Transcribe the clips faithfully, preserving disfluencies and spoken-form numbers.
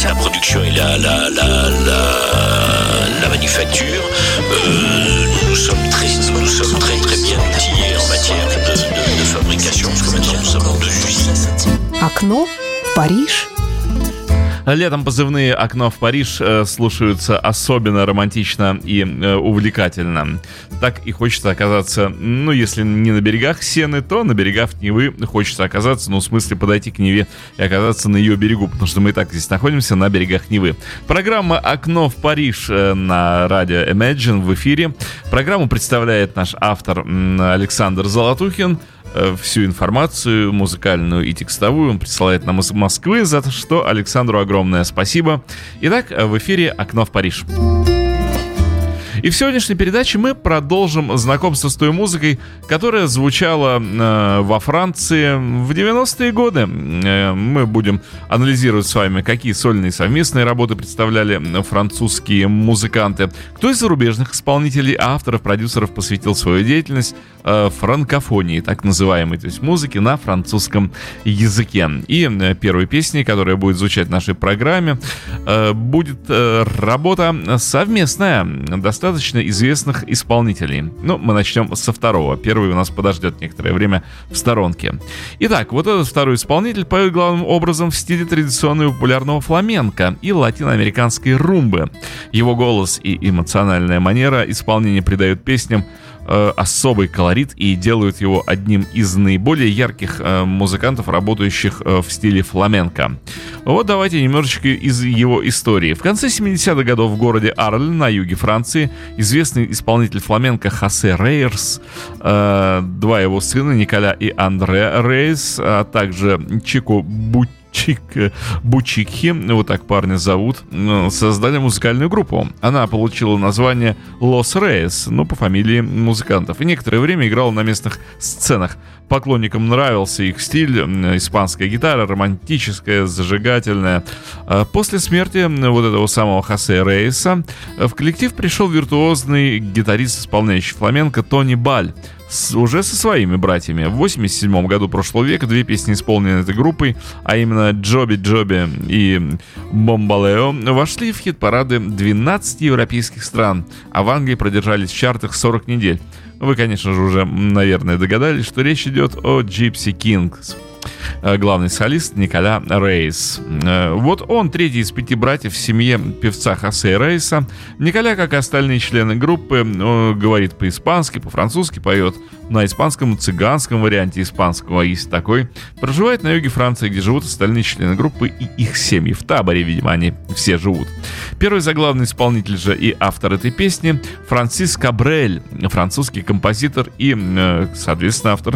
la production et la, la, la, la, la manufacture, euh, nous sommes très, nous sommes très très bien outillés en matière de, de, de fabrication, parce que maintenant nous sommes en deux usines. Окно в Париж. Летом позывные «Окно в Париж» э, слушаются особенно романтично и э, увлекательно. Так и хочется оказаться, ну, если не на берегах Сены, то на берегах Невы хочется оказаться, ну, в смысле подойти к Неве и оказаться на ее берегу, потому что мы и так здесь находимся на берегах Невы. Программа «Окно в Париж» на радио Imagine в эфире. Программу представляет наш автор Александр Золотухин. Всю информацию, музыкальную и текстовую, он присылает нам из Москвы, за что Александру огромное спасибо. Итак, в эфире «Окно в Париж». И в сегодняшней передаче мы продолжим знакомство с той музыкой, которая звучала э, во Франции в девяностые годы. Э, мы будем анализировать с вами, какие сольные совместные работы представляли французские музыканты, кто из зарубежных исполнителей, авторов, продюсеров посвятил свою деятельность э, франкофонии, так называемой, то есть музыке на французском языке. И э, первой песней, которая будет звучать в нашей программе, э, будет э, работа совместная, достаточно достаточно известных исполнителей. Ну, мы начнем со второго. Первый у нас подождет некоторое время в сторонке. Итак, вот этот второй исполнитель поет главным образом в стиле традиционного популярного фламенко и латиноамериканской румбы. Его голос и эмоциональная манера исполнения придают песням э, особый колорит и делают его одним из наиболее ярких э, музыкантов, работающих э, в стиле фламенко. Вот давайте немножечко из его истории. В конце семидесятых годов в городе Арль на юге Франции известный исполнитель фламенко Хосе Рейерс, э, два его сына Николя и Андре Рейс, а также Чико Бутти Чик Бучикхи, вот так парня зовут, создали музыкальную группу. Она получила название Лос Рейс, ну, по фамилии музыкантов. И некоторое время играла на местных сценах. Поклонникам нравился их стиль, испанская гитара, романтическая, зажигательная. После смерти вот этого самого Хосе Рейса в коллектив пришел виртуозный гитарист, исполняющий фламенко Тони Баль, С, уже со своими братьями. В восемьдесят седьмом году прошлого века две песни, исполненные этой группой, а именно «Джоби Джоби» и «Бомбалео», вошли в хит-парады двенадцати европейских стран, а в Англии продержались в чартах сорок недель. Вы, конечно же, уже, наверное, догадались, что речь идет о Gypsy Kings. Главный солист Николя Рейс. Вот он третий из пяти братьев в семье певца Хосе Рейса. Николя, как и остальные члены группы, говорит по-испански, по-французски, поет на испанском, цыганском варианте испанского, есть такой. Проживает на юге Франции, где живут остальные члены группы и их семьи. В таборе, видимо, они все живут. Первый заглавный исполнитель же и автор этой песни Франсис Кабрель, французский композитор и, соответственно, автор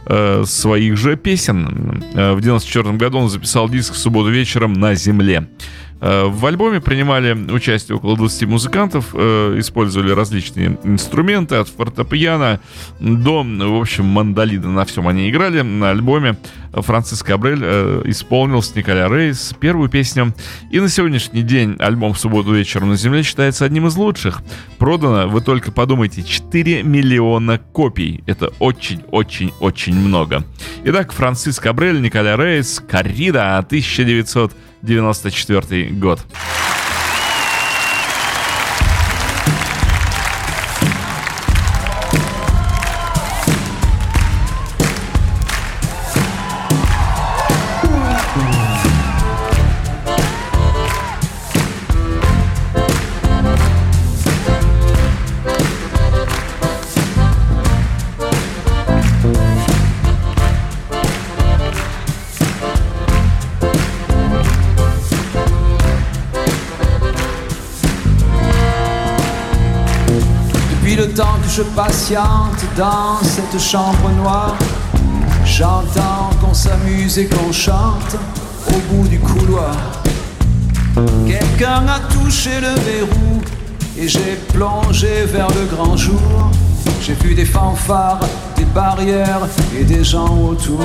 своих же песен. В девяносто четвёртом году он записал диск «В субботу вечером на земле». В альбоме принимали участие около двадцати музыкантов, использовали различные инструменты, от фортепиано до, в общем, мандолина. На всем они играли. На альбоме Франсис Кабрель исполнил с Николя Рейс первую песню. И на сегодняшний день альбом «В субботу вечером на земле» считается одним из лучших. Продано, вы только подумайте, четыре миллиона копий. Это очень-очень-очень много. Итак, Франсис Кабрель, Николя Рейс, «Коррида», тысяча девятьсот девяносто четвёртый год. Je patiente dans cette chambre noire. J'entends qu'on s'amuse et qu'on chante au bout du couloir. Quelqu'un a touché le verrou et j'ai plongé vers le grand jour. J'ai vu des fanfares, des barrières et des gens autour.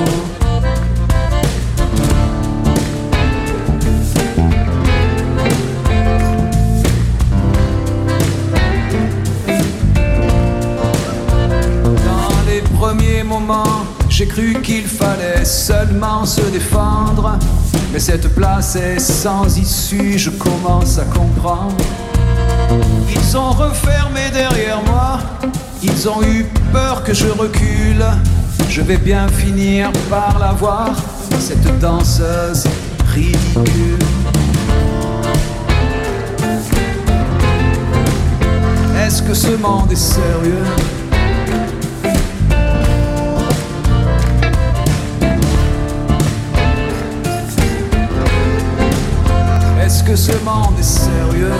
Premier moment, j'ai cru qu'il fallait seulement se défendre. Mais Mais cette place est sans issue, je commence à comprendre. Ils ont refermé derrière moi, ils ont eu peur que je recule. Je vais bien finir par la voir, cette danseuse ridicule. Est-ce que ce monde est sérieux? Est-ce que ce monde est sérieux?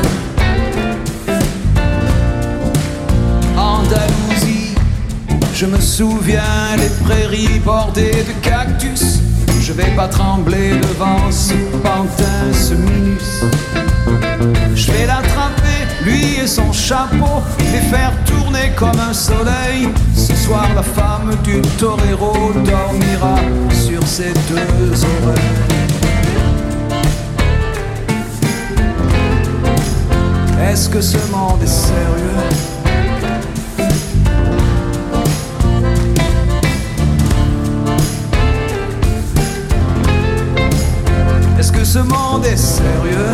Andalousie, je me souviens, les prairies bordées de cactus. Je vais pas trembler devant ce pantin, ce minus. Je vais l'attraper, lui et son chapeau, les faire tourner comme un soleil. Ce soir, la femme du torero dormira sur ses deux oreilles. Est-ce que ce monde est sérieux? Est-ce que ce monde est sérieux?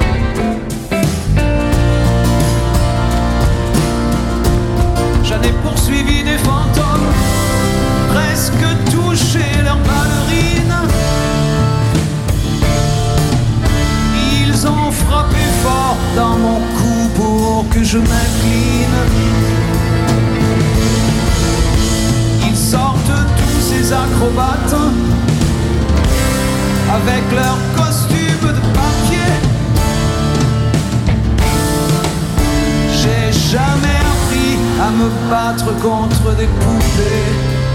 J'en ai poursuivi des fantômes, presque touché leurs ballerines. Ils ont frappé fort dans mon cou pour que je m'incline. Ils sortent tous ces acrobates avec leurs costumes de papier. J'ai jamais appris à me battre contre des poupées.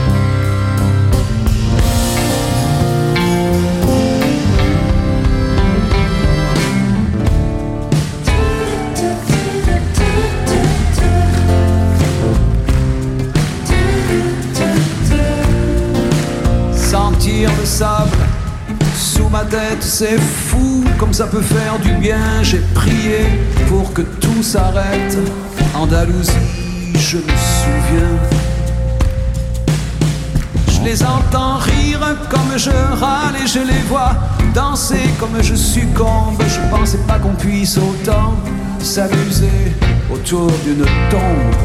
Sentir le sable sous ma tête, c'est fou comme ça peut faire du bien. J'ai prié pour que tout s'arrête. Andalousie, je me souviens. Je les entends rire comme je râle et je les vois danser comme je succombe. Je pensais pas qu'on puisse autant s'amuser autour d'une tombe.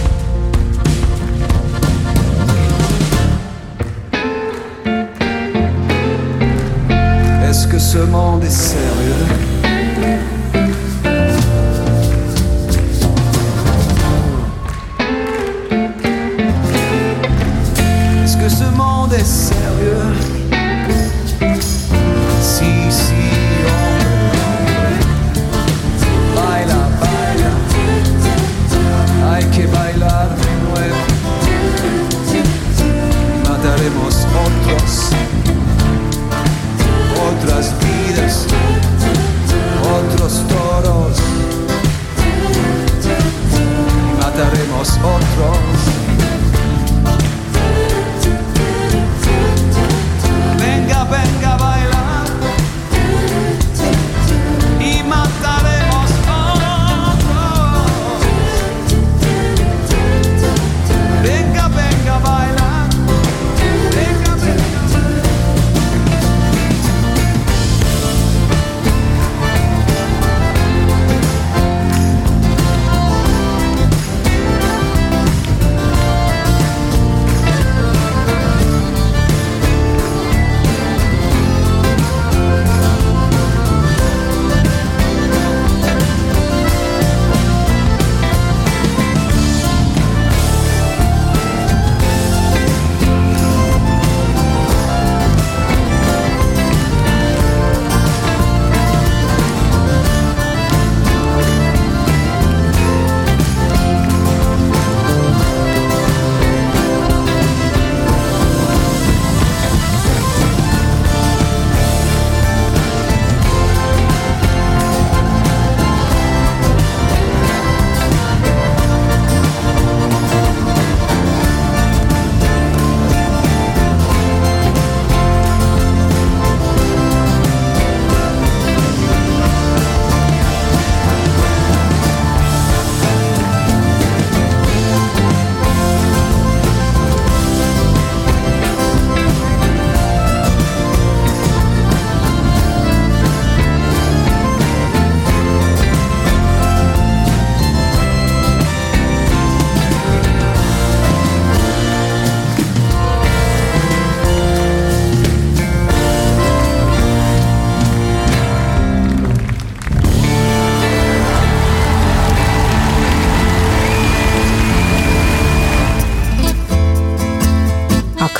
Est-ce que ce monde est sérieux? Est-ce que ce monde est sérieux? Si, si, hombre, baila, baila, hay que bailar de nuevo, mataremos otros, otras vidas.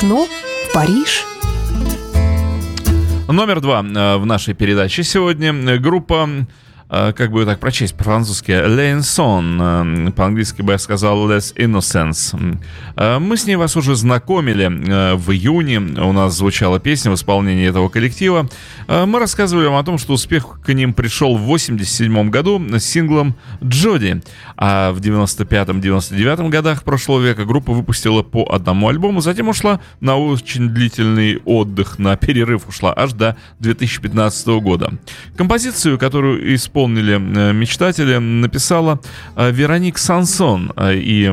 Окно в Париж. Номер два в нашей передаче сегодня группа, как бы так прочесть по-французски, Les Insons, по-английски бы я сказал Les Innocents. Мы с ней вас уже знакомили в июне, у нас звучала песня в исполнении этого коллектива. Мы рассказывали вам о том, что успех к ним пришел в восемьдесят седьмом году с синглом «Джоди», а в девяносто пятом — девяносто девятом годах прошлого века группа выпустила по одному альбому, затем ушла на очень длительный отдых, на перерыв ушла аж до две тысячи пятнадцатого года. Композицию, которую исполнили Исполнили мечтатели, написала Вероник Сансон, и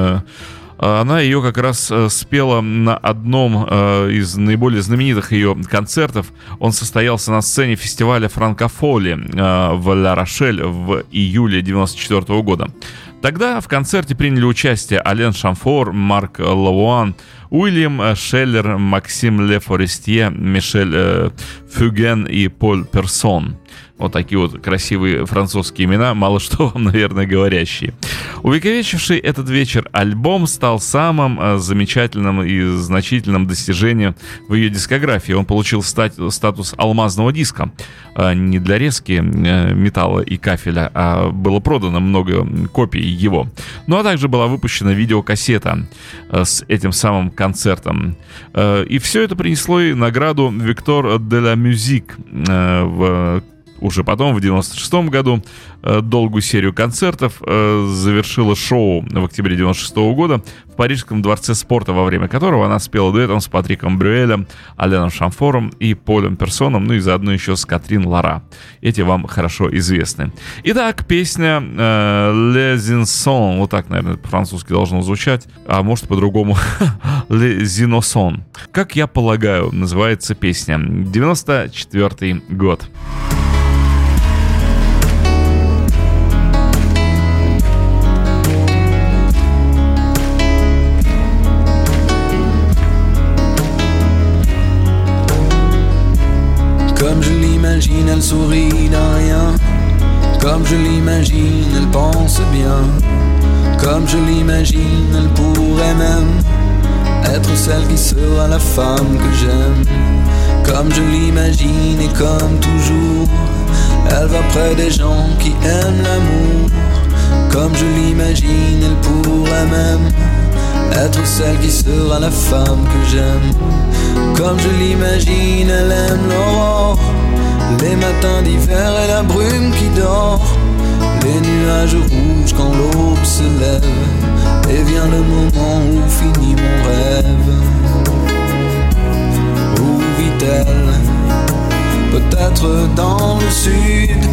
она ее как раз спела на одном из наиболее знаменитых ее концертов. Он состоялся на сцене фестиваля Франкофоли в Ла-Рошель в июле девяносто четвёртого года. Тогда в концерте приняли участие Ален Шамфор, Марк Лавуан, Уильям Шеллер, Максим Ле Форестье, Мишель э, Фюген и Поль Персон. Вот такие вот красивые французские имена, мало что вам, наверное, говорящие. Увековечивший этот вечер альбом стал самым э, замечательным и значительным достижением в ее дискографии. Он получил стать, статус алмазного диска. Э, не для резки э, металла и кафеля, а было продано много копий его. Ну а также была выпущена видеокассета э, с этим самым концертом. Э, и все это принесло ей награду Victor de la Musique э, в Уже потом, в девяносто шестом году, долгую серию концертов завершила шоу в октябре девяносто шестого года в Парижском дворце спорта, во время которого она спела дуэтом с Патриком Брюэлем, Аленом Шамфором и Полем Персоном, ну и заодно еще с Катрин Лара. Эти вам хорошо известны. Итак, песня Les Insons, вот так, наверное, по-французски должно звучать, а может по-другому Les Innocents. Как я полагаю, называется песня. девяносто четвёртый год. Comme je l'imagine, elle sourit d'un rien. Comme je l'imagine, elle pense bien. Comme je l'imagine, elle pourrait même être celle qui sera la femme que j'aime. Comme je l'imagine et comme toujours, elle va près des gens qui aiment l'amour. Comme je l'imagine, elle pourrait même être celle qui sera la femme que j'aime. Comme je l'imagine, elle aime l'aurore, les matins d'hiver et la brume qui dort, les nuages rouges quand l'aube se lève, et vient le moment où finit mon rêve. Où vit-elle? Peut-être dans le sud,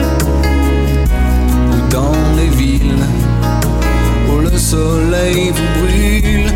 ou dans les villes où le soleil vous brûle.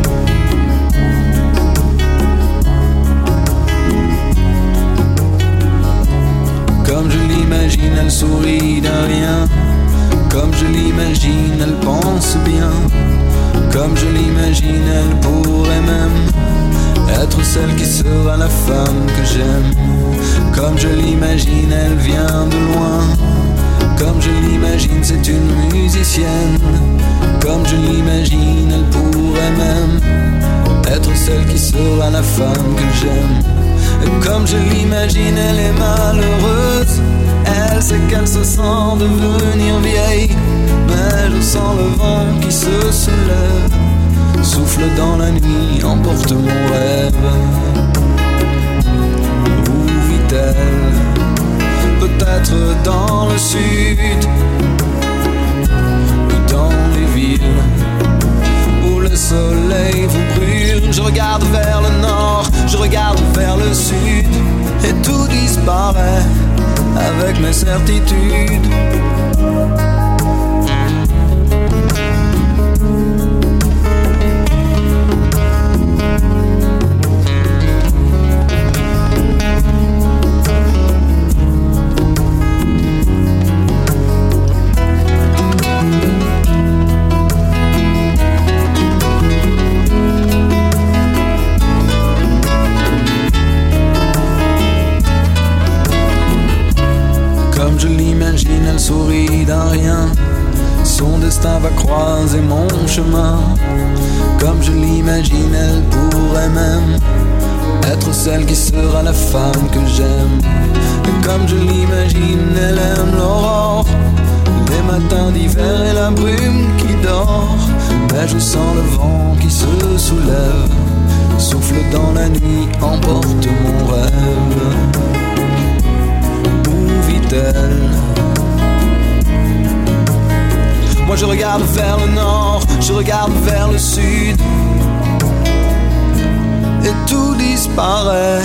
Comme je l'imagine, elle sourit d'un rien. Comme je l'imagine, elle pense bien. Comme je l'imagine, elle pourrait même être celle qui sera la femme que j'aime. Comme je l'imagine, elle vient de loin. Comme je l'imagine, c'est une musicienne. Comme je l'imagine, elle pourrait même être celle qui sera la femme que j'aime. Et comme je l'imagine, elle est malheureuse. Elle sait qu'elle se sent devenir vieille, mais je sens le vent qui se soulève, souffle dans la nuit, emporte mon rêve. Où vit-elle? Peut-être dans le sud, ou dans les villes où le soleil vous brûle. Je regarde vers le nord, je regarde vers le sud, et tout disparaît avec mes certitudes. Elle sourit d'un rien, son destin va croiser mon chemin. Comme je l'imagine, elle pourrait même être celle qui sera la femme que j'aime. Et comme je l'imagine, elle aime l'aurore, les matins d'hiver et la brume qui dort. Mais je sens le vent qui se soulève, souffle dans la nuit, emporte mon rêve. Où vit-elle? Moi je regarde vers le nord, je regarde vers le sud, et tout disparaît.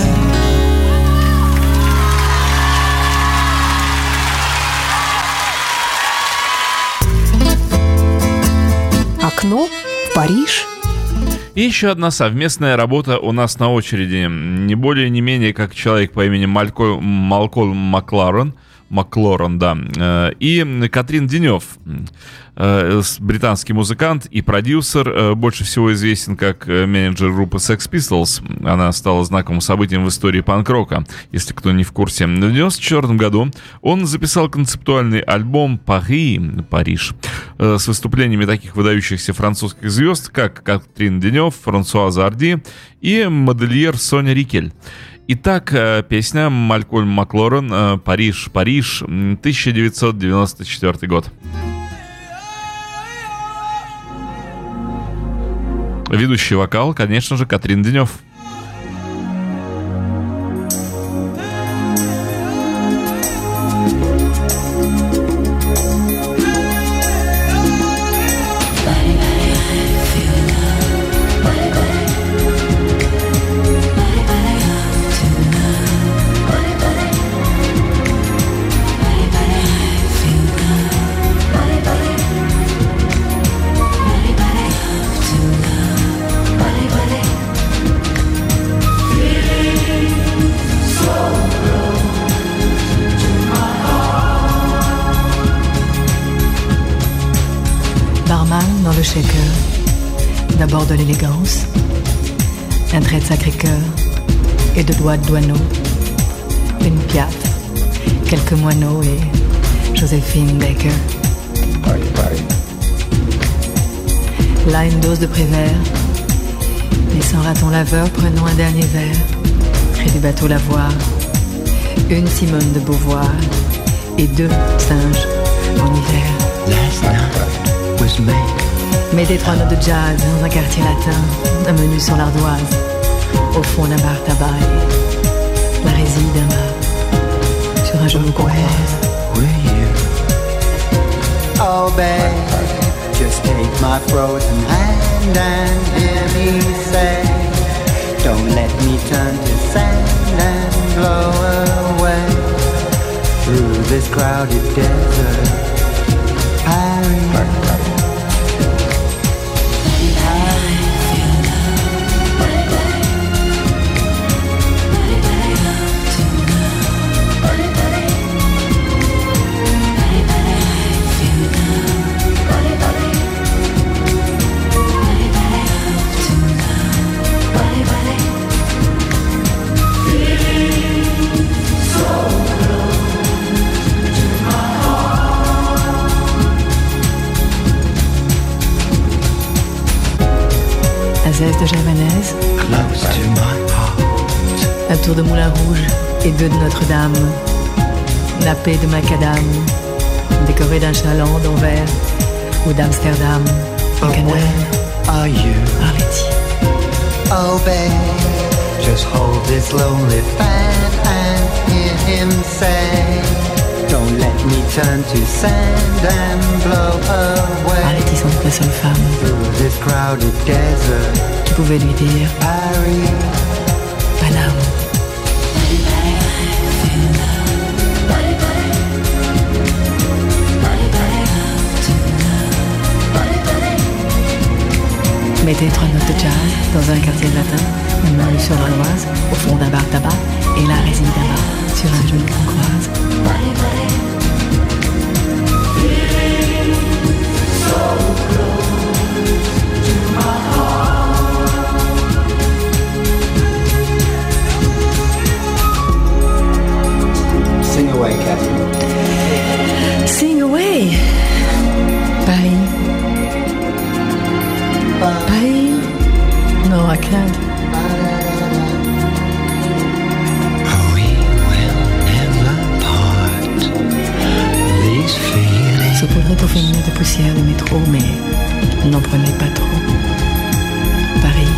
Окно в Париж. И еще одна совместная работа у нас на очереди. Не более, не менее, как человек по имени Малькольм Малкольм Макларен, Маклорен, да, и Катрин Денев, британский музыкант и продюсер, больше всего известен как менеджер группы Sex Pistols. Она стала знаковым событием в истории панк-рока, если кто не в курсе. В девяносто четвёртом году он записал концептуальный альбом «Пари», «Париж», с выступлениями таких выдающихся французских звезд, как Катрин Денев, Франсуаза Арди и модельер Соня Рикель. Итак, песня Малькольм Маклорен «Париж, Париж», тысяча девятьсот девяносто четвёртый год. Ведущий вокал, конечно же, Катрин Денев. Dans le shaker, d'abord de l'élégance, un trait de Sacré-Cœur et deux doigts de Douaneau, une Piaf, quelques moineaux et Joséphine Baker. Là une dose de Prévert, et sans raton laveur prenons un dernier verre, près du bateau Lavoir, une Simone de Beauvoir et deux singes en hiver. Last night was May. Mettez trois notes de jazz dans un quartier latin, un menu sur l'ardoise, au fond d'un bar tabac, la résine d'un bar, sur un genou qu'on croise. Oh babe, just take my frozen hand and hear me say, don't let me turn to sand and blow away through this crowded desert. Paris. Zeste de javanaise, Close to my heart. un tour de Moulin Rouge et deux de Notre-Dame, nappé de macadam, décoré d'un chaland d'Anvers ou d'Amsterdam, en But canal, where are you? Arletty. Oh babe, just hold this lonely fan and hear him say, don't let me turn to sand and blow away Arletty sans doute la seule femme through this crowded desert. qui pouvait lui dire Paris. Paname. Mettez trois notes de jazz dans un quartier latin, une main sur l'Oise, au fond d'un bar tabac, et la résine d'un bar sur un genou qu'on croise. Sing away, Catherine. Sing away, Paris. poussière de métro, mais n'en prenez pas trop. Paris.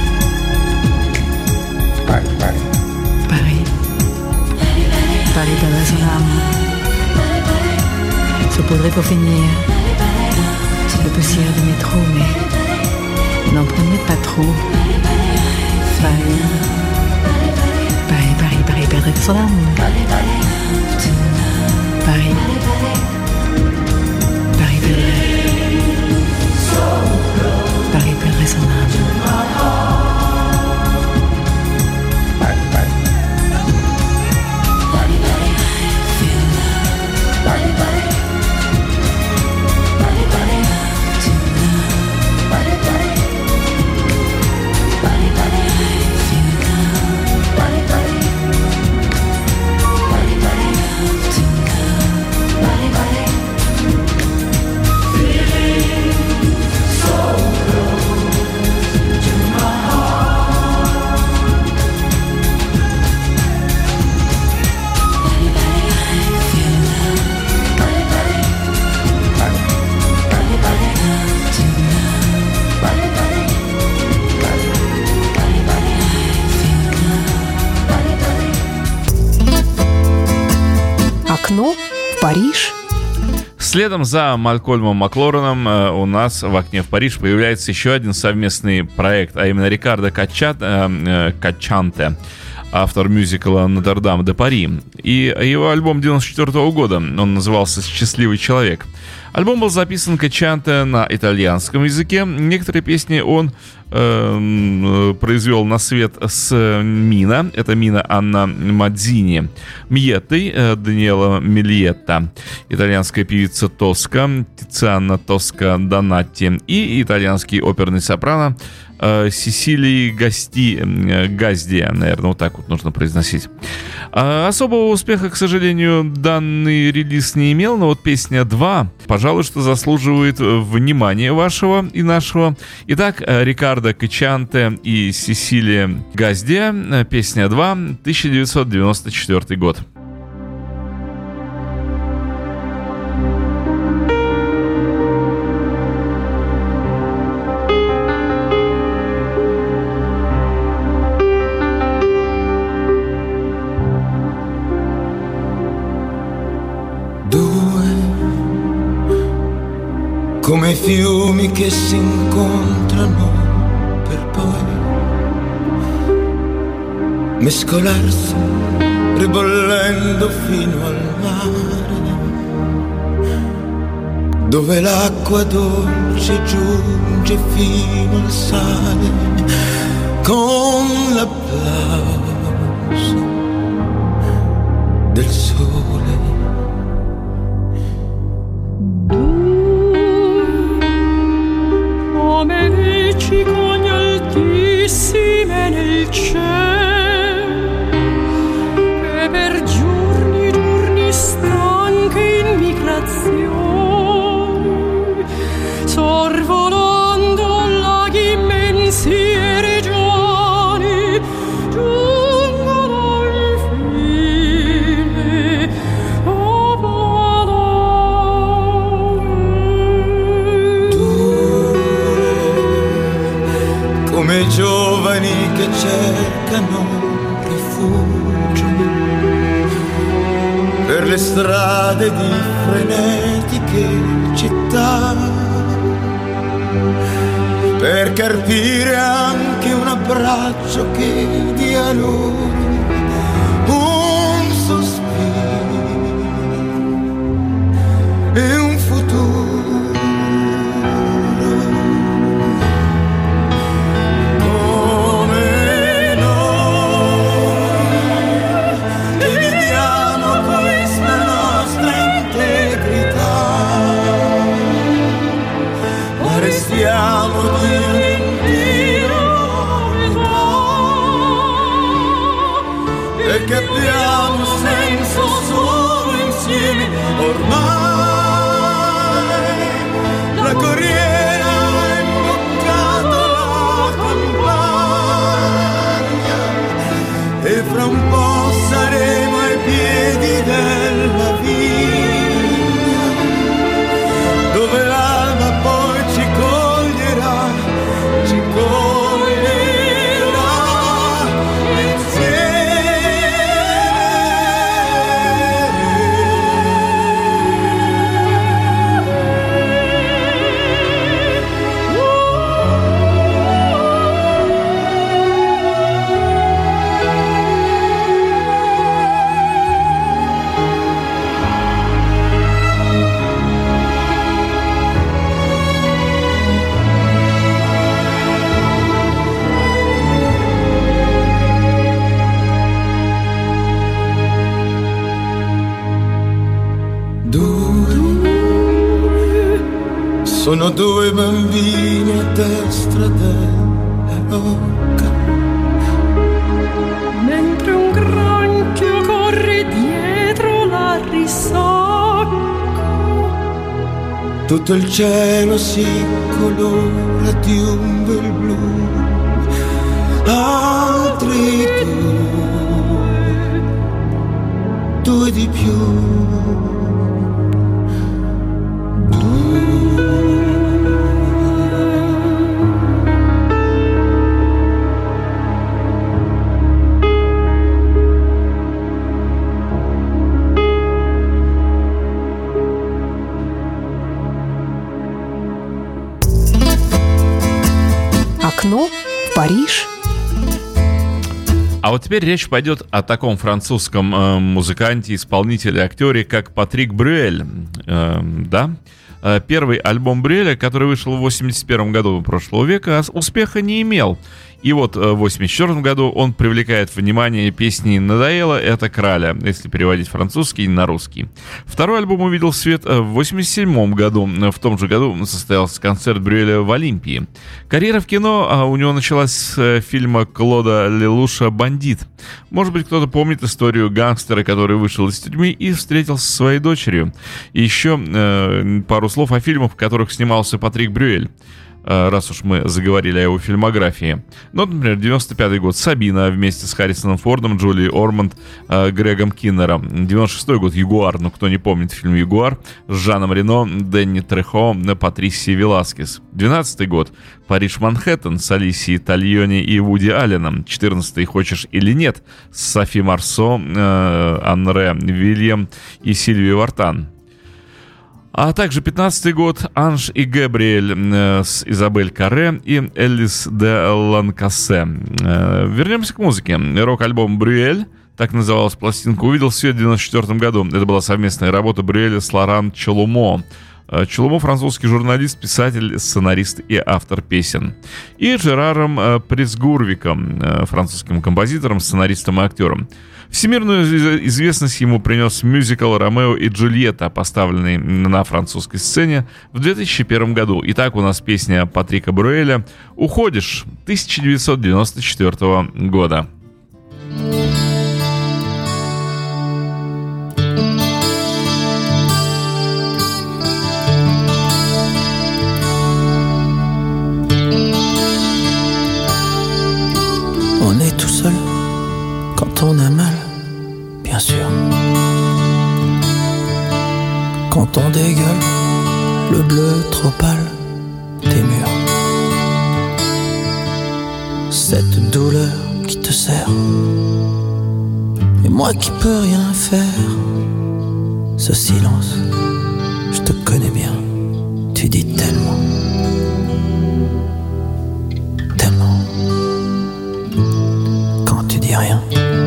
Paris, Paris. Paris. Paris perdrait son âme. Saupoudrer pour finir. C'est de poussière de métro, mais n'en prenez pas trop. Paris. Paris, Paris, Paris perdrait son âme. Paris. Paris perdrait. Paris perdrait son âme. Окно в Париж. Следом за Малькольмом Маклореном у нас в «Окне в Париж» появляется еще один совместный проект, а именно Рикардо Каччанте, автор мюзикла «Нотр-Дам де Пари». И его альбом девяносто четвёртого года, он назывался «Счастливый человек». Альбом был записан Каччанте на итальянском языке. Некоторые песни он э, произвел на свет с Мина. Это Мина Анна Мадзини. Мьеттой э, Даниэла Мильетта. Итальянская певица Тоска Тициана Тоска Донатти. И итальянский оперный сопрано э, Сесилии Гасти, э, Газдия. Наверное, вот так вот нужно произносить. А особого успеха, к сожалению, данный релиз не имел. Но вот песня два, пожалуй, что заслуживает внимания вашего и нашего. Итак, Рикардо Каччанте и Сесилия Газдия. Песня два, тысяча девятьсот девяносто четвёртый год. Come fiumi che si incontrano per poi mescolarsi ribollendo fino al mare, dove l'acqua dolce giunge fino al sale con l'applauso del sole. Come veci cogli altissime nel cielo, e per giorni, giorni stanche in migrazione, sorvolando laghi immensi e regioni, giungono infine a come giovani che cercano rifugio per le strade di frenetiche città, per carpire anche un abbraccio che dia loro un sospiro e un futuro. Siamo di un'intera sono due bambini a destra della rocca. Mentre un granchio corre dietro la risacca, tutto il cielo si colora di un bel blu. Altri due, due di più. Окно в Париж. А вот теперь речь пойдет о таком французском э, музыканте, исполнителе, актере, как Патрик Брюэль. Э, да? Э, первый альбом Брюэля, который вышел в восемьдесят первом году прошлого века, успеха не имел. И вот в восемьдесят четвёртом году он привлекает внимание песни «Надоело» — это «Краля», если переводить французский на русский. Второй альбом увидел свет в восемьдесят седьмом году. В том же году состоялся концерт Брюэля в Олимпии. Карьера в кино у него началась с фильма Клода Лелуша «Бандит». Может быть, кто-то помнит историю гангстера, который вышел из тюрьмы и встретился со своей дочерью. И еще э, пару слов о фильмах, в которых снимался Патрик Брюэль, раз уж мы заговорили о его фильмографии. Ну, например, девяносто пятый год «Сабина» вместе с Харрисоном Фордом, Джулией Ормонд, э, Грегом Киннером. девяносто шестой год «Ягуар», ну, кто не помнит фильм «Ягуар», с Жаном Рено, Дэнни Трехо, Патрисией Веласкес. двенадцатый год «Париж, Манхэттен» с Алисией Тальони и Вуди Алленом. четырнадцатый «Хочешь или нет» с Софи Марсо, э, Анре Вильям и Сильвией Вартан. А также пятнадцатый год «Анж и Габриэль» э, с Изабель Карре и Элис де Ланкассе. Э, вернемся к музыке. Рок-альбом «Брюэль», так называлась пластинка, увидел свет в девяносто четвёртом году. Это была совместная работа Брюэля с Лоран Челумо. Челумо — французский журналист, писатель, сценарист и автор песен. И Жераром э, Пресгурвиком, э, французским композитором, сценаристом и актером. Всемирную известность ему принес мюзикл «Ромео и Джульетта», поставленный на французской сцене в две тысячи первом году. Итак, у нас песня Патрика Брюэля «Уходишь» тысяча девятьсот девяносто четвёртого года. On est tout seul quand on a mal, bien sûr. Quand on dégueule le bleu trop pâle des murs. Cette douleur qui te serre, et moi qui peux rien faire. Ce silence, je te connais bien, tu dis tellement. Rien.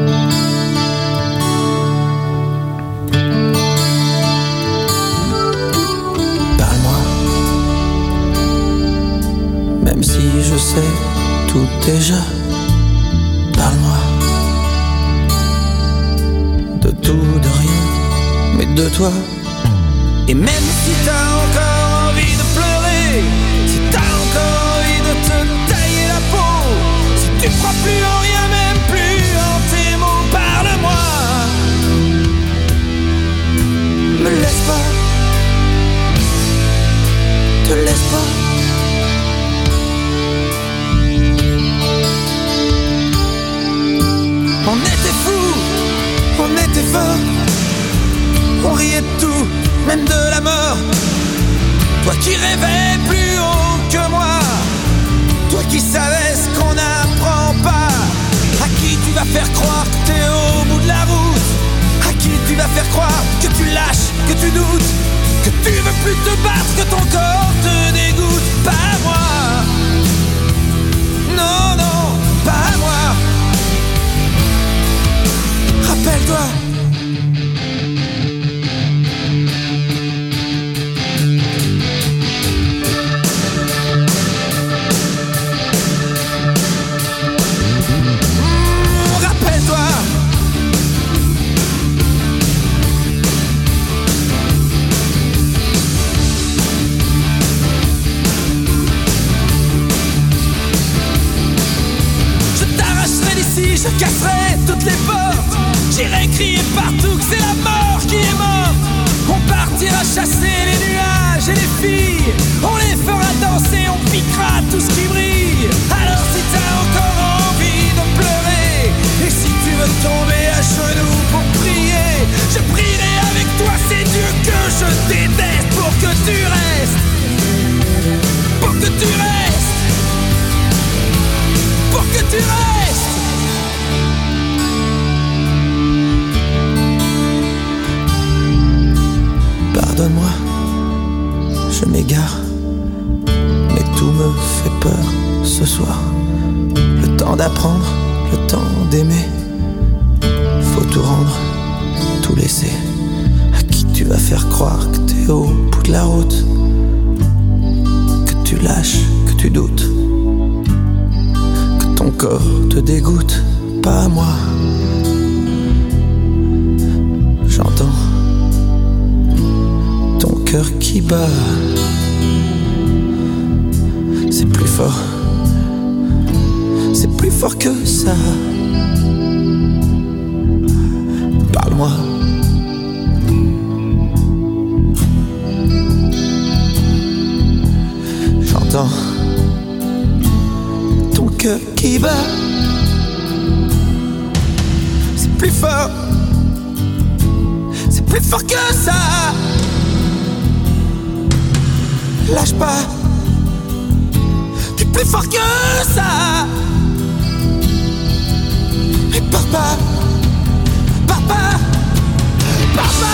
Parle-moi, même si je sais tout déjà. Parle-moi de tout, de rien, mais de toi. Et même si t'as encore envie de pleurer, si t'as encore envie de te tailler la peau, si tu crois plus en rien, même plus en tes mots, parle-moi. Me laisse pas, te laisse pas. On était fous, on était forts, on riait de tout, même de la mort. Toi qui rêvais plus haut que moi, toi qui savais ce qu'on n'apprend pas. À qui tu vas faire croire que t'es au bout de la route? À qui tu vas faire croire que tu lâches, que tu doutes, que tu veux plus te battre, que ton corps te dégoûte? Pas moi, non, non, pas moi. Rappelle-toi. pardonne-moi, je m'égare, mais tout me fait peur ce soir. Le temps d'apprendre, le temps d'aimer, faut tout rendre, tout laisser. À qui tu vas faire croire que t'es au bout de la route, que tu lâches, que tu doutes, que ton corps te dégoûte, pas moi. J'entends ton cœur qui bat, c'est plus fort, c'est plus fort que ça. Parle-moi. J'entends ton cœur qui bat, c'est plus fort, c'est plus fort que ça. Lâche pas, t'es plus fort que ça. Et pars pas, pars pas, pars pas.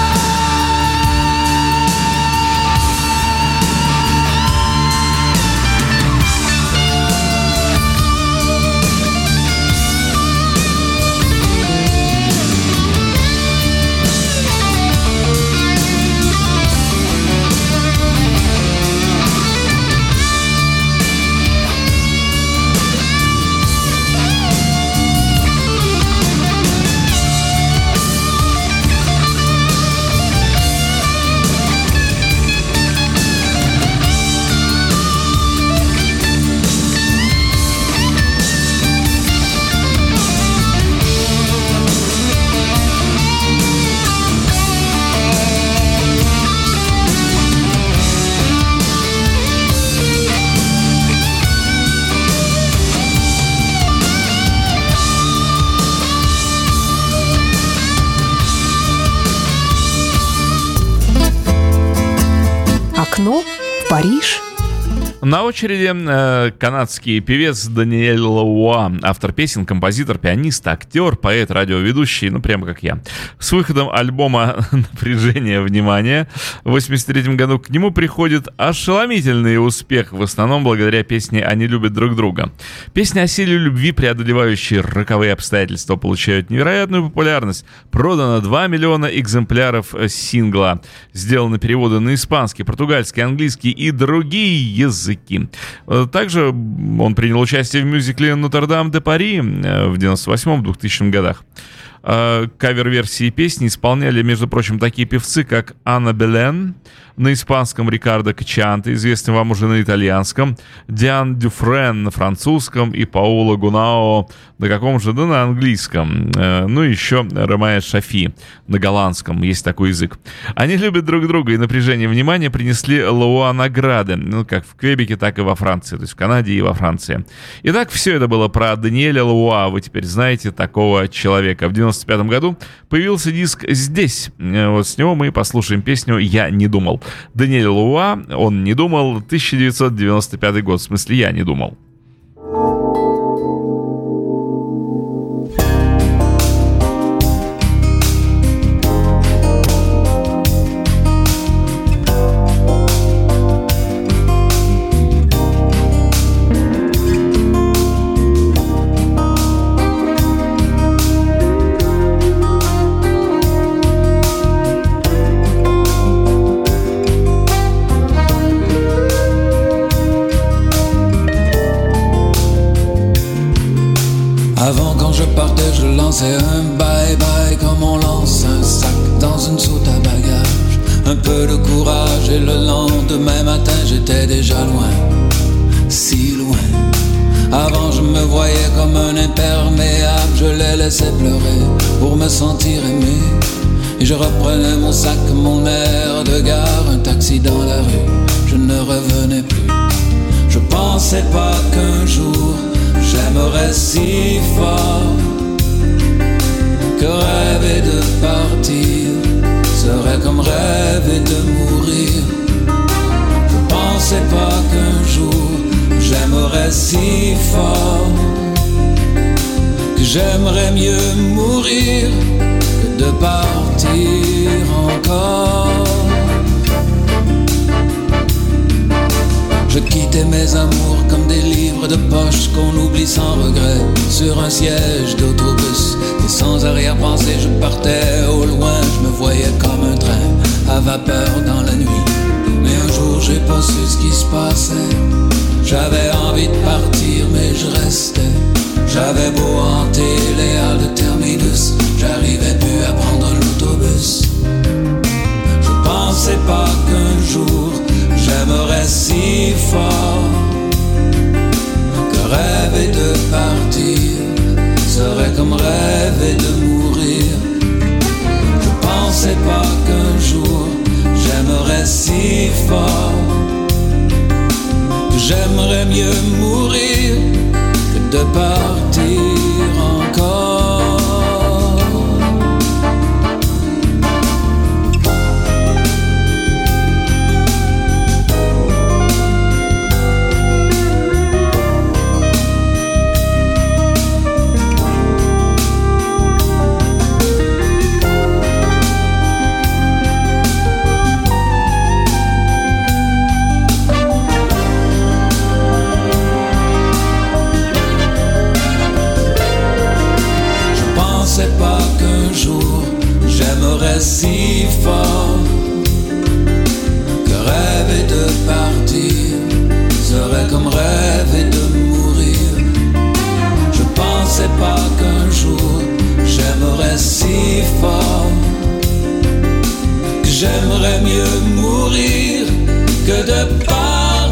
Окно в Париж. На очереди э, канадский певец Даниэль Лауа, автор песен, композитор, пианист, актер, поэт, радиоведущий, ну прямо как я. С выходом альбома «Напряжение внимания» в восемьдесят третьем году к нему приходит ошеломительный успех, в основном благодаря песне «Они любят друг друга». Песни о силе любви, преодолевающие роковые обстоятельства, получают невероятную популярность. Продано два миллиона экземпляров сингла. Сделаны переводы на испанский, португальский, английский и другие языки. Также он принял участие в мюзикле «Нотр-Дам де Пари» в девяносто восьмом — двухтысячном годах. Кавер-версии песни исполняли, между прочим, такие певцы, как Анна Белен на испанском, Рикардо Качианте, известный вам уже на итальянском, Диан Дюфрен на французском и Паоло Гунао на каком же, да на английском. Ну и еще Ромео Шафи на голландском, есть такой язык. Они любят друг друга, и «Напряжение внимания» принесли Лауа награды, ну как в Квебеке, так и во Франции, то есть в Канаде и во Франции. Итак, все это было про Даниэля Лауа, вы теперь знаете такого человека. В девяносто пятом году появился диск «Здесь». Вот с него мы послушаем песню «Я не думал». Даниэль Лауа, он не думал, тысяча девятьсот девяносто пятый год, в смысле «Я не думал». Avant quand je partais je lançais un bye-bye comme on lance un sac dans une soute à bagages. Un peu de courage et le lendemain matin j'étais déjà loin, si loin. Avant je me voyais comme un imperméable, je les laissais pleurer pour me sentir aimé. Et je reprenais mon sac, mon air de gare, un taxi dans la rue, je ne revenais plus. Je pensais pas qu'un jour j'aimerais si fort que rêver de partir serait comme rêver de mourir. Je pensais pas qu'un jour j'aimerais si fort que j'aimerais mieux mourir que de partir encore. vie sans regret sur un siège d'autobus. Et sans arrière-pensée je partais au loin. Je me voyais comme un train à vapeur dans la nuit. Mais un jour j'ai pas su ce qui se passait. J'avais envie de partir mais je restais. J'avais beau hanter les halles de terminus, j'arrivais plus à prendre l'autobus. Je pensais pas qu'un jour j'aimerais si fort que rêver de partir serait comme rêver de mourir. Je pensais pas qu'un jour j'aimerais si fort que j'aimerais mieux mourir que de partir encore. J'aimerais si fort que rêver de partir serait comme rêver de mourir. Je pensais pas qu'un jour j'aimerais si fort que j'aimerais mieux mourir que de partir.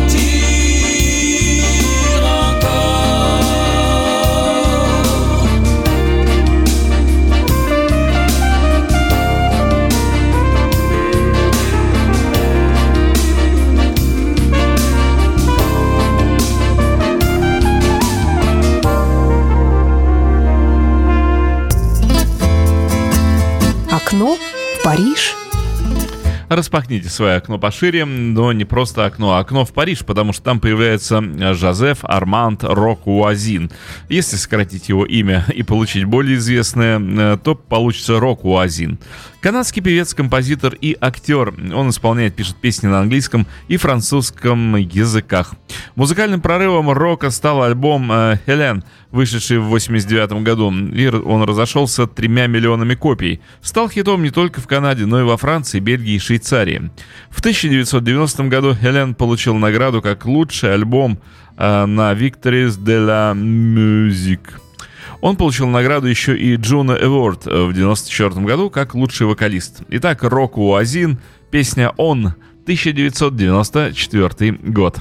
Окно в Париж. Распахните свое окно пошире, но не просто окно, а окно в Париж, потому что там появляется Жозеф Арманд Рок-Уазин. Если сократить его имя и получить более известное, то получится Рок-Уазин. Канадский певец, композитор и актер. Он исполняет, пишет песни на английском и французском языках. Музыкальным прорывом рока стал альбом «Хелен», вышедший в восемьдесят девятом году. И он разошелся тремя миллионами копий. Стал хитом не только в Канаде, но и во Франции, Бельгии и Швейцарии. В тысяча девятьсот девяностом году «Хелен» получил награду как лучший альбом на Victories de la Musique. Он получил награду еще и Juno Award в девяносто четвёртом году как лучший вокалист. Итак, Рок-Уазин, песня «Он», тысяча девятьсот девяносто четвёртый год.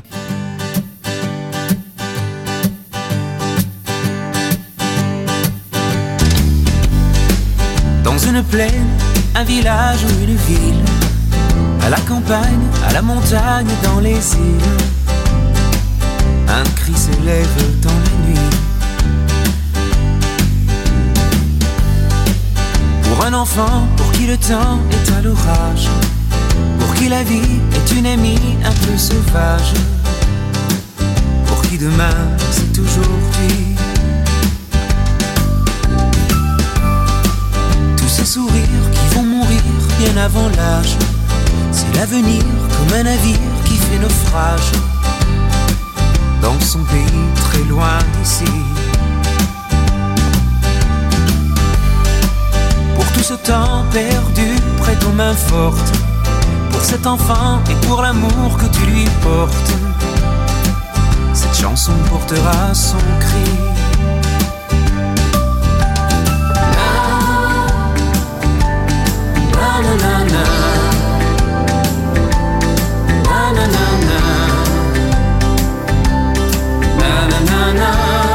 Dans une plaine, un village ou une ville, à la campagne, à la montagne, dans les îles, un cri s'élève dans la nuit. Pour un enfant, pour qui le temps est à l'orage, pour qui la vie est une amie un peu sauvage, pour qui demain c'est aujourd'hui. Tous ces sourires qui vont mourir bien avant l'âge, c'est l'avenir comme un navire qui fait naufrage dans son pays très loin d'ici. Pour tout ce temps perdu près aux mains fortes, pour cet enfant et pour l'amour que tu lui portes, cette chanson portera son cri. Na na na na, na na na na, na na na na.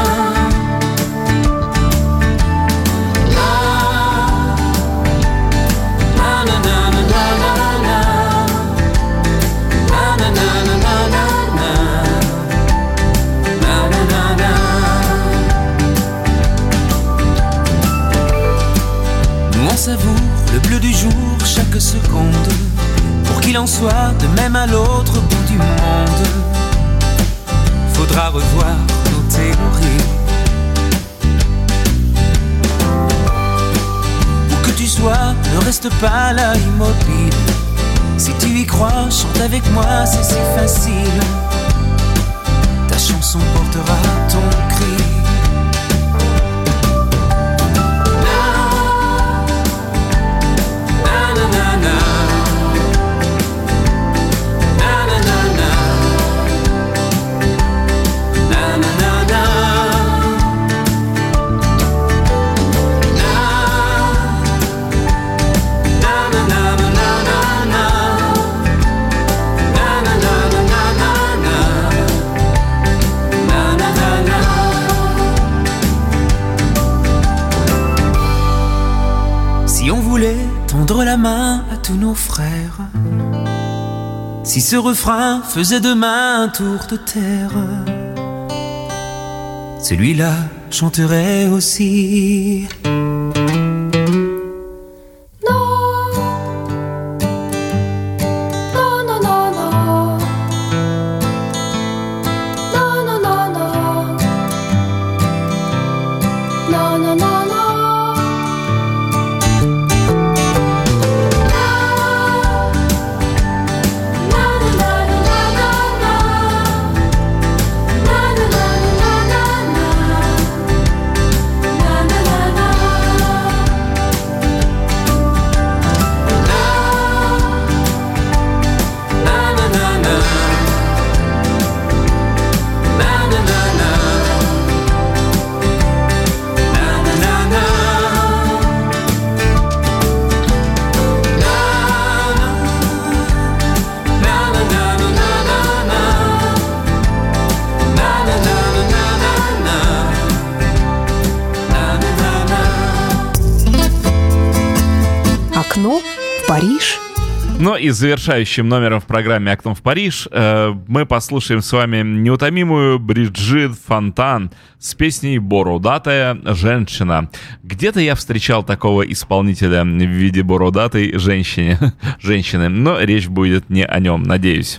Savoure le bleu du jour chaque seconde, pour qu'il en soit de même à l'autre bout du monde. Faudra revoir nos théories. Où que tu sois, ne reste pas là immobile. Si tu y crois, chante avec moi, c'est si facile. Ta chanson portera ton cri. main à tous nos frères. Si ce refrain faisait demain un tour de terre, celui-là chanterait aussi. Окно в Париж. Ну и завершающим номером в программе «Окно в Париж» э, мы послушаем с вами неутомимую Бриджит Фонтан с песней «Бородатая женщина». Где-то я встречал такого исполнителя в виде бородатой женщины, женщины, но речь будет не о нем, надеюсь.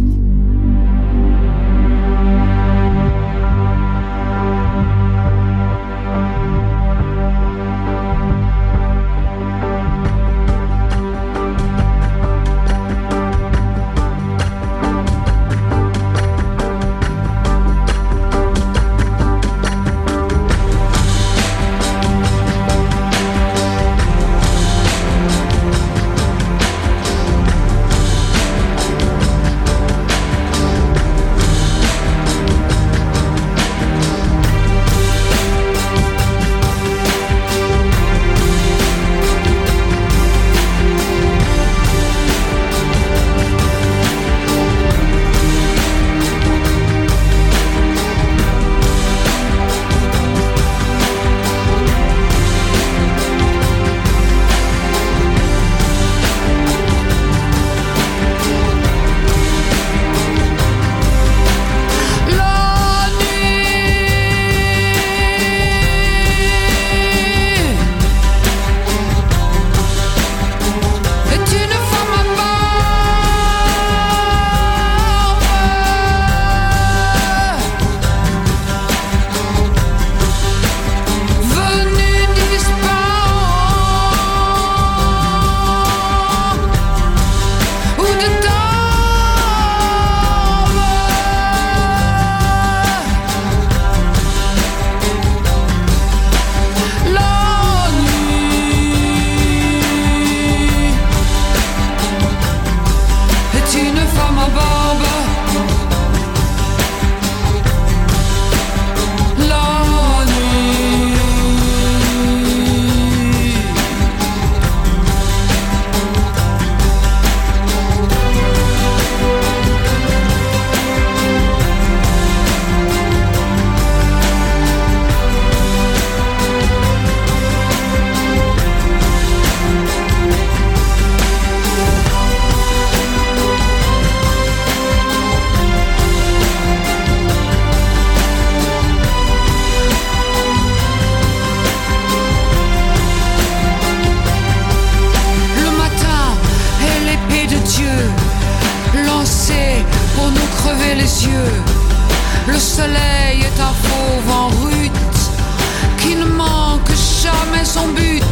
Le soleil est un fauve en rute qui ne manque jamais son but.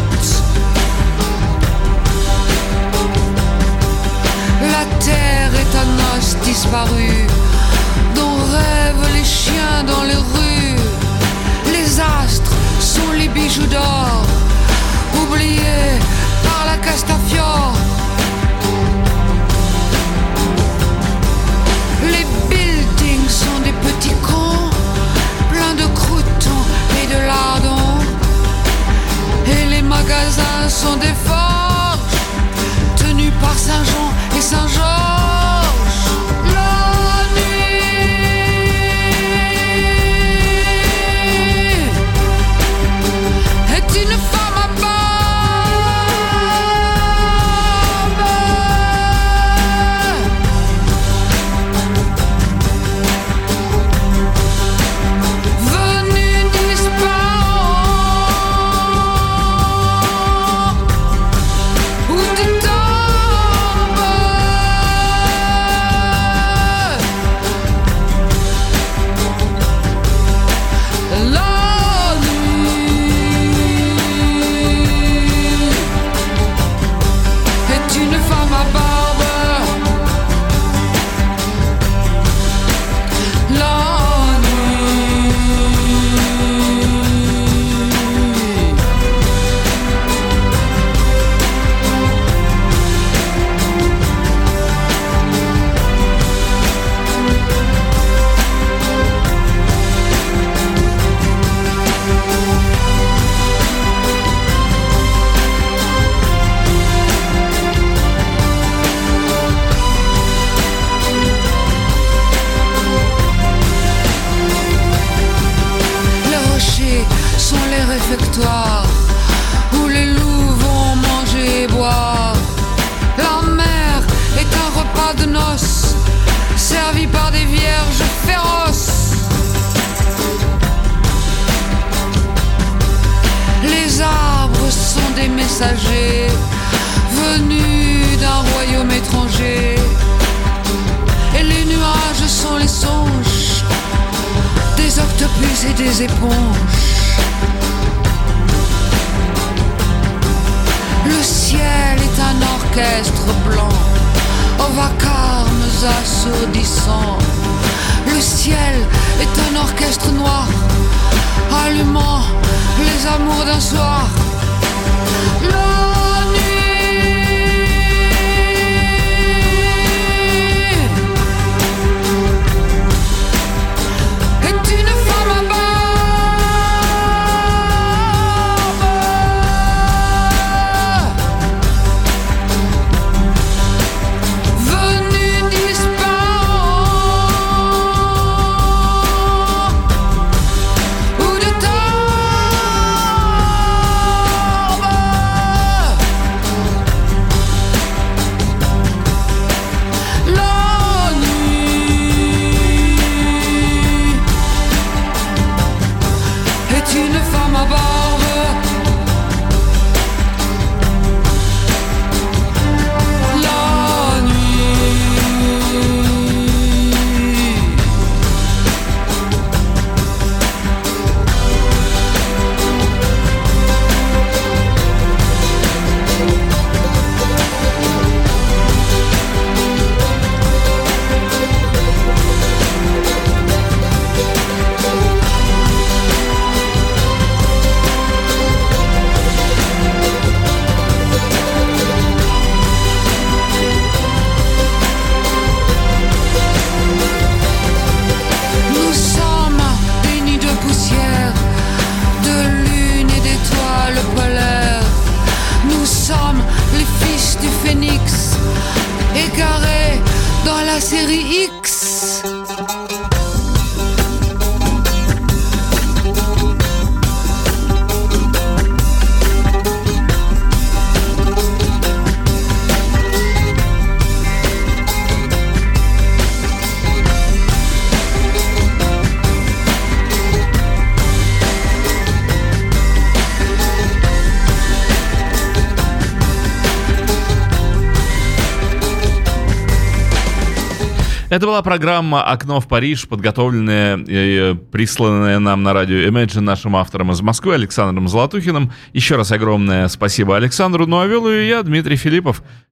La terre est un os disparu dont rêvent les chiens dans les rues. Les astres sont les bijoux d'or oubliés par la Castafiore. Les buildings sont des petits cons pleins de croûtons et de lardons. Et les magasins sont des forges tenus par Saint-Jean et Saint-Georges. La nuit est une femme à barbe des messagers venus d'un royaume étranger. Et les nuages sont les songes des octopus et des éponges. Le ciel est un orchestre blanc aux vacarmes assourdissants. Le ciel est un orchestre noir allumant les amours d'un soir. La nuit est une femme à barbe venue disparant ou de la nuit est une femme à barbe. La nuit nous sommes des nids de poussière, de lune et d'étoiles polaires. Nous sommes les fils du phénix, égarés dans la série X. Это была программа «Окно в Париж», подготовленная и присланная нам на радио Imagine нашим автором из Москвы Александром Золотухиным. Еще раз огромное спасибо Александру. Ну а вел ее я, Дмитрий Филиппов.